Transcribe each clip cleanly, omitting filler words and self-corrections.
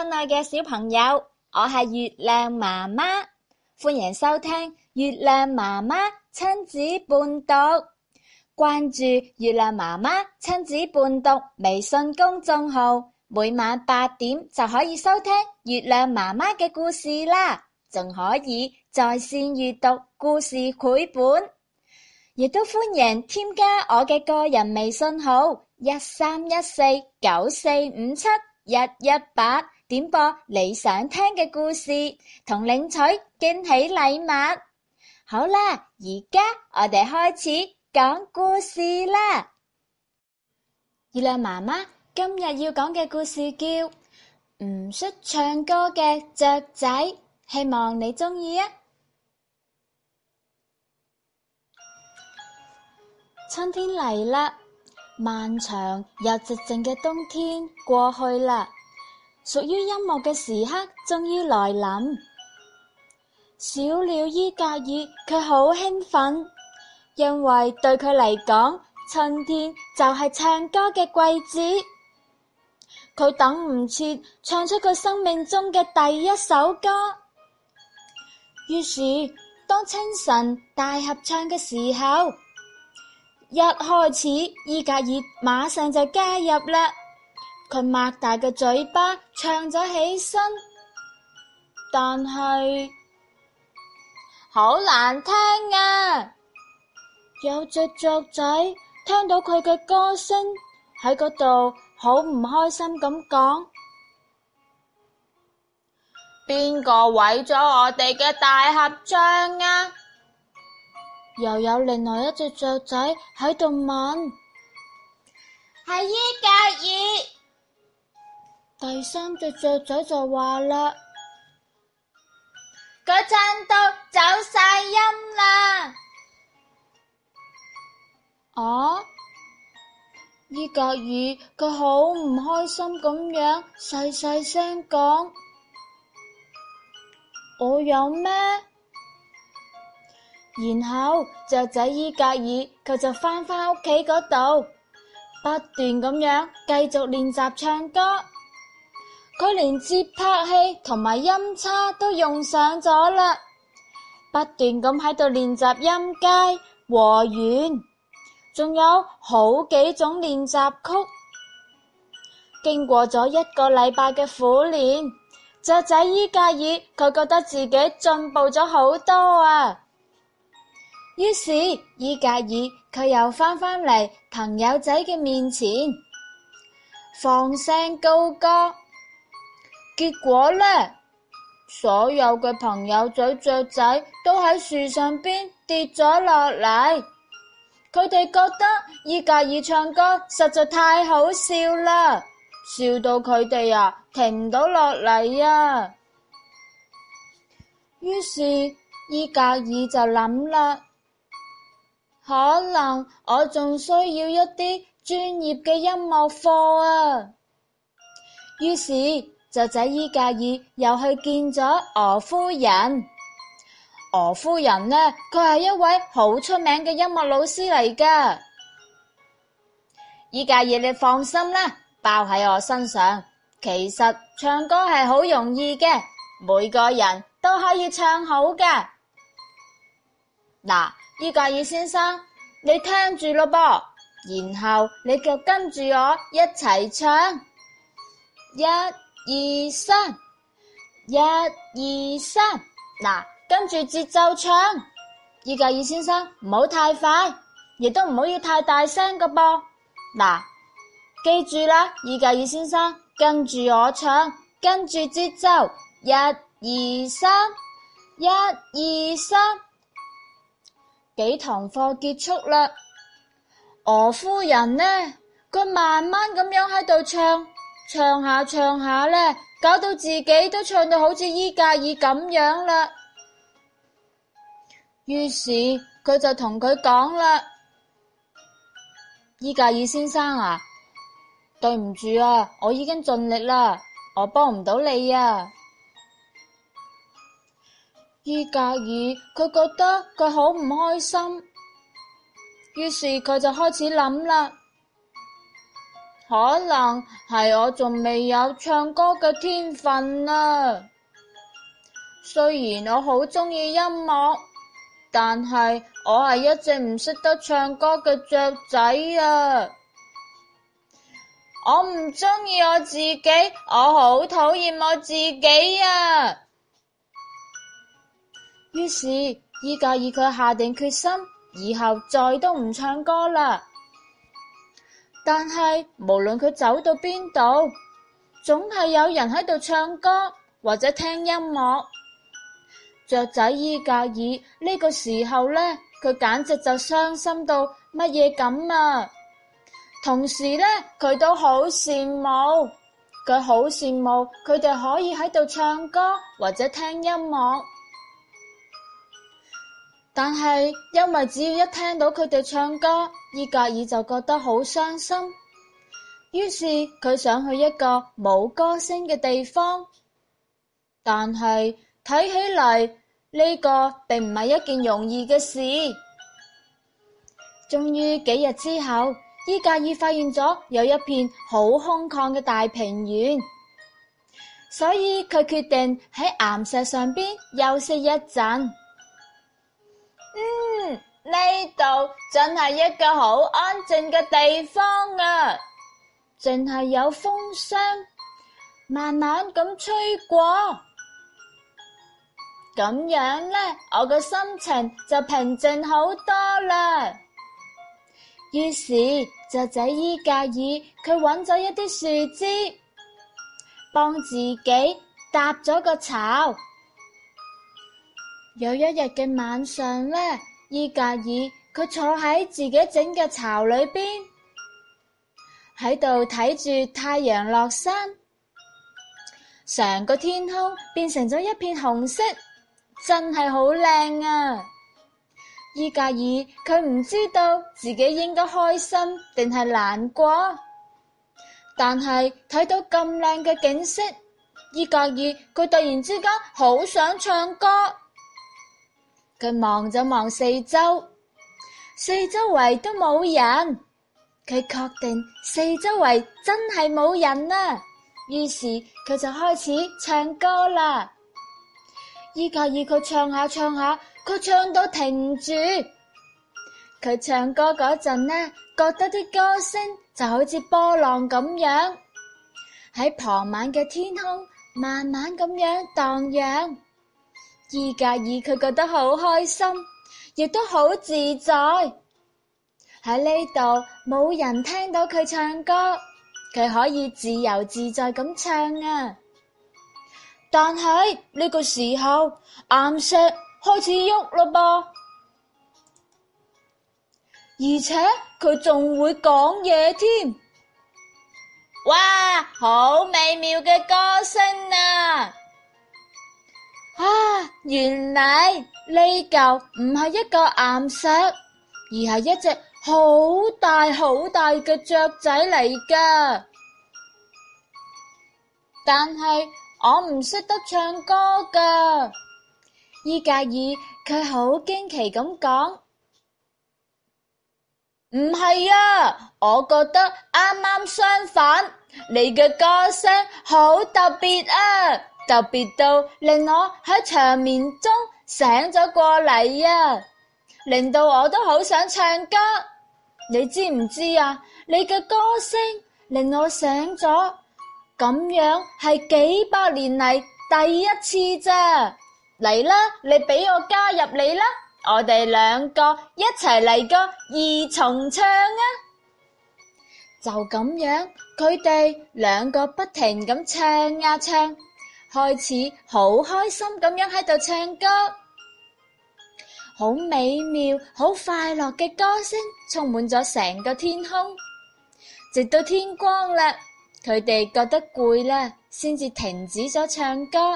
親愛嘅小朋友，我係月亮媽媽，歡迎收聽月亮媽媽親子伴讀。關注月亮媽媽親子伴讀微信公眾號，每晚8點就可以收聽月亮媽媽嘅故事啦，仲可以在線閱讀故事繪本，亦都歡迎添加我嘅個人微信號131494571181，點播你想聽嘅故事，同領取驚喜禮物。好啦，而家我哋開始講故事啦。月亮媽媽今日要講嘅故事叫唔識唱歌嘅雀仔，希望你鍾意啊！春天嚟啦，漫長又寂靜嘅冬天過去啦，屬於音樂嘅時刻終於來臨。小鳥伊格爾佢好興奮，因為對佢嚟講，春天就係唱歌嘅季節。佢等唔切唱出佢生命中嘅第一首歌。於是，當清晨大合唱嘅時候，一開始伊格爾馬上就加入啦。佢擘大個嘴巴唱咗起身，但係好難聽啊！有隻雀仔聽到佢嘅歌聲喺嗰度，好唔開心咁講：邊個毀咗我哋嘅大合唱啊？又有另外一隻雀仔喺度問：係伊格爾。第三隻雀仔就話啦：佢唱到走晒音啦。啊！伊格爾佢好唔開心咁樣細細聲講：我有咩？然後雀仔伊格爾佢就返屋企嗰度，不斷咁樣繼續練習唱歌。佢連節拍器同埋音叉都用上咗啦，不斷咁喺度練習音階、和弦，仲有好幾種練習曲。經過咗1個禮拜嘅苦練，雀仔伊格爾佢覺得自己進步咗好多啊！於是伊格爾佢又返嚟朋友仔嘅面前，放聲高歌。結果呢，所有嘅朋友仔雀仔都喺樹上邊跌咗落嚟。佢哋覺得伊格爾唱歌實在太好笑啦，笑到佢哋停唔到落嚟啊！於是伊格爾就諗啦，可能我仲需要一啲專業嘅音樂課啊！於是雀仔伊格爾又去見咗鵝夫人。鵝夫人呢，佢係一位好出名嘅音樂老師嚟㗎。伊格爾你放心啦，包喺我身上。其實唱歌係好容易嘅，每個人都可以唱好㗎。嗱，伊格爾先生，你聽住咯噃，然後你就跟住我一齊唱，1、2、3，1、2、3，嗱，跟住節奏唱。伊格爾先生唔好太快，亦都唔好要太大聲㗎噃。嗱，記住啦，伊格爾先生跟住我唱，跟住節奏，1、2、3，1、2、3。幾堂課結束啦，鵝夫人呢，佢慢慢咁樣喺度唱下呢，搞到自己都唱到好似伊格爾咁樣啦。於是佢就同佢講啦：伊格爾先生啊，對唔住啊，我已經盡力啦，我幫唔到你啊。伊格爾佢覺得佢好唔開心，於是佢就開始諗啦。 可能係我仲未有唱歌嘅天分啊。雖然我好鍾意音樂，但係我係一隻唔識得唱歌嘅雀仔啊。我唔鍾意我自己，我好討厭我自己啊。於是伊格爾佢下定決心，以後再都唔唱歌啦。但係無論佢走到邊度，總係有人喺度唱歌或者聽音樂。雀仔伊格爾呢個時候呢，佢簡直就傷心到乜嘢咁啊！同時呢，佢都好羨慕，佢好羨慕佢哋可以喺度唱歌或者聽音樂。但係因為只要一聽到佢哋唱歌，伊格爾就覺得好傷心。於是佢想去一個冇歌聲嘅地方，但係睇起嚟呢個並唔係一件容易嘅事。終於幾日之後，伊格爾發現咗有一片好空曠嘅大平原，所以佢決定喺岩石上邊休息一陣。呢度真係一個好安靜嘅地方啊，淨係有風聲慢慢咁吹過，咁樣呢，我嘅心情就平靜好多啦。於是雀仔伊格爾佢揾咗一啲樹枝，幫自己搭咗個巢。有一日嘅晚上呢，伊格爾佢坐喺自己整嘅巢裏邊，喺度睇住太陽落山，成個天空變成咗一片紅色，真係好靚啊！伊格爾佢唔知道自己應該開心定係難過，但係睇到咁靚嘅景色，伊格爾佢突然之間好想唱歌。佢望咗望四周，四周圍都冇人，佢確定四周圍真係冇人啦。於是佢就開始唱歌啦。伊格爾佢唱下唱下，佢唱到停住。佢唱歌嗰陣呢，覺得啲歌聲就好似波浪咁樣，喺傍晚嘅天空慢慢咁樣蕩漾。伊格爾佢覺得好開心，亦都好自在。喺呢度冇人聽到佢唱歌，佢可以自由自在咁唱啊！但係呢個時候，岩石開始喐啦噃，而且佢仲會講嘢添。哇，好美妙嘅歌聲啊！原來呢嚿唔係一個岩石，而係一隻好大好大嘅雀仔嚟㗎。但係我唔識得唱歌㗎。伊格爾佢好驚奇咁講：唔係啊，我覺得啱啱相反，你嘅歌聲好特別啊！特別到令我喺長眠中醒咗過嚟啊，令到我都好想唱歌。你知唔知啊？你嘅歌聲令我醒咗，咁樣係幾百年嚟第一次咋。嚟啦，你俾我加入你啦，我哋兩個一齊嚟個二重唱啊！就咁樣，佢哋兩個不停咁唱啊唱，開始好開心咁樣喺度唱歌，好美妙、好快樂嘅歌聲充滿咗成個天空。直到天光啦，佢哋覺得攰啦，先至停止咗唱歌。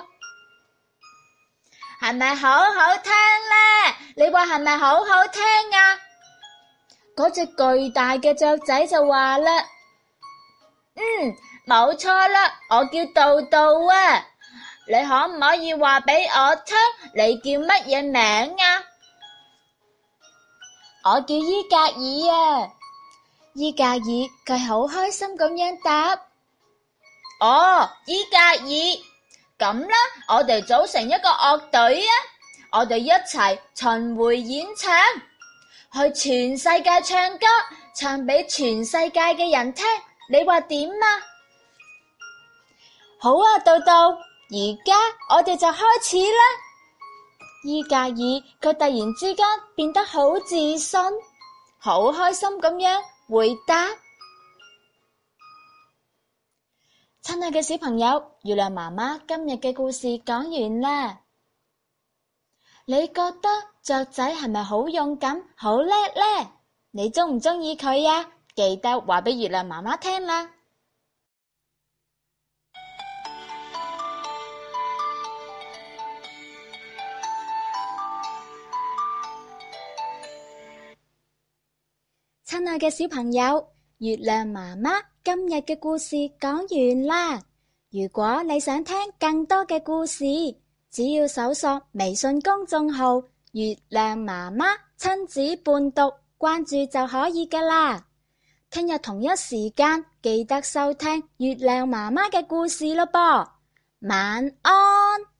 係咪好好聽呢？你話係咪好好聽啊？嗰隻巨大嘅雀仔就話啦：冇錯啦，我叫豆豆啊。你可唔可以話俾我聽，你叫乜嘢名啊？我叫伊格爾啊。 伊格爾佢好開心咁樣答： 哦，伊格爾，咁啦，我哋組成一個樂隊啊！我哋一齊巡迴演唱，去全世界唱歌，唱俾全世界嘅人聽。你話點啊？ 好啊，豆豆，而家我哋就開始啦。伊格爾佢突然之間變得好自信，好開心咁樣回答。親愛嘅小朋友，月亮媽媽今日嘅故事講完啦。你覺得雀仔係咪好勇敢、好叻呢？你鍾唔鍾意佢呀？記得話俾月亮媽媽聽啦。親愛嘅小朋友，月亮媽媽今日嘅故事講完啦。如果你想聽更多嘅故事，只要搜索微信公眾號月亮媽媽親子伴讀，關注就可以㗎啦。聽日同一時間記得收聽月亮媽媽嘅故事咯噃。晚安。